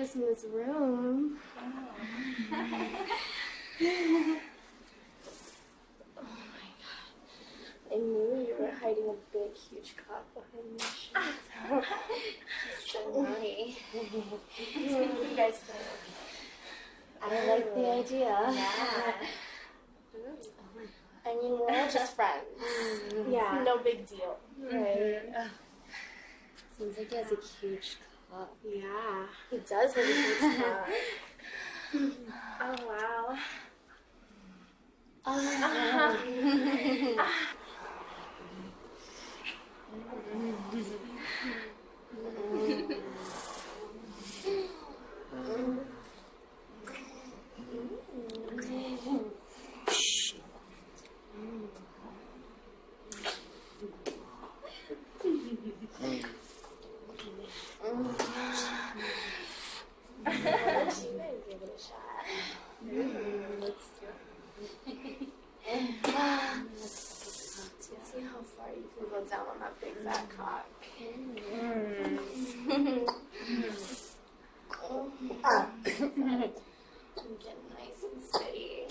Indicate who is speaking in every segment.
Speaker 1: nice in this room. Oh my god. I knew you were hiding a big, huge cock behind your shirt. So naughty. What do you guys think? I like the idea. Yeah. I mean, we're all just friends. Yeah. No big deal. Right. Seems like he has a huge cock. Yeah. He does have a huge cock. Oh, wow. Give it a shot. Let's see how far you can go down on that big fat cock. I'm getting nice and steady.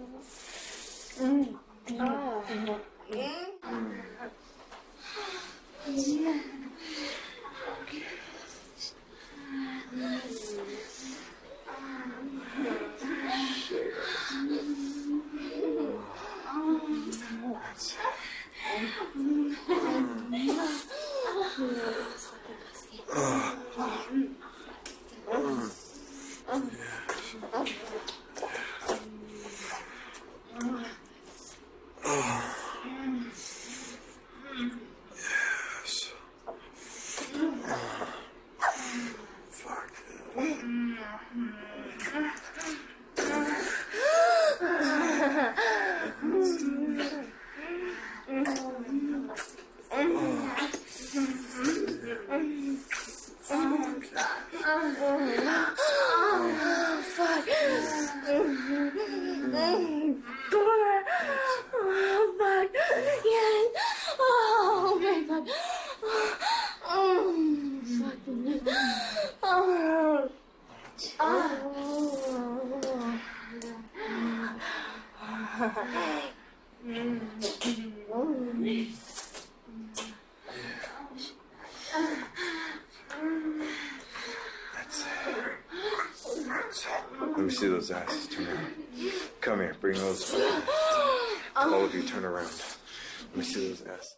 Speaker 2: Let me see those asses. Turn around. Come here. Bring those fucking... All of you turn around. Let me see those asses.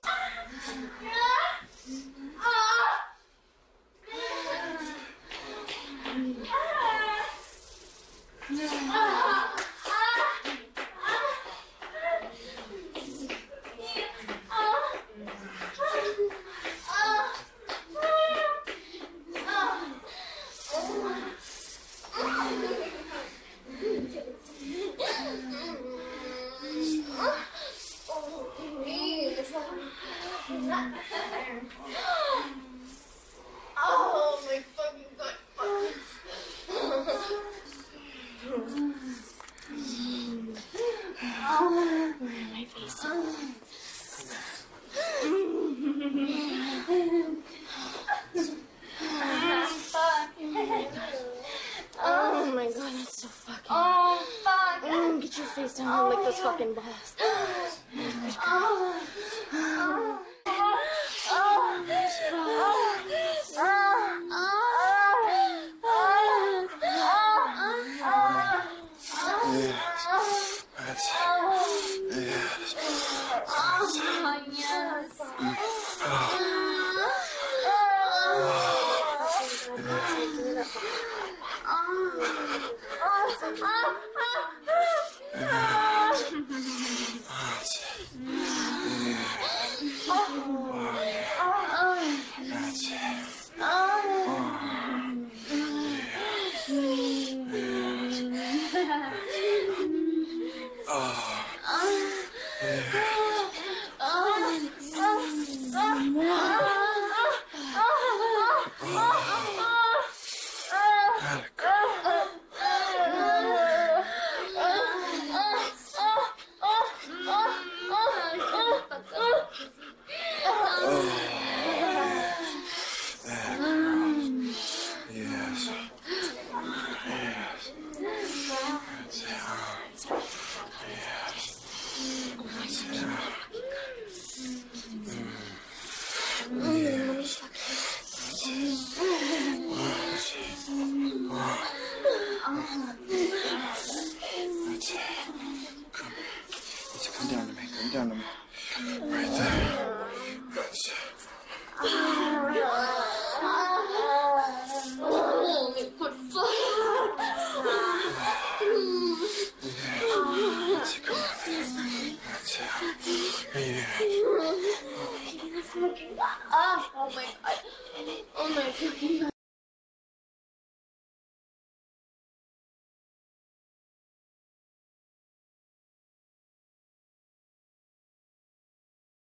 Speaker 1: Oh my fucking god. My face. Oh my god, that's so fucking. Oh fuck. Get your face down and lick those fucking balls.
Speaker 2: Right there. That's it. That's it. Come on. That's it. Yeah.
Speaker 1: Oh my god. Oh my fucking god.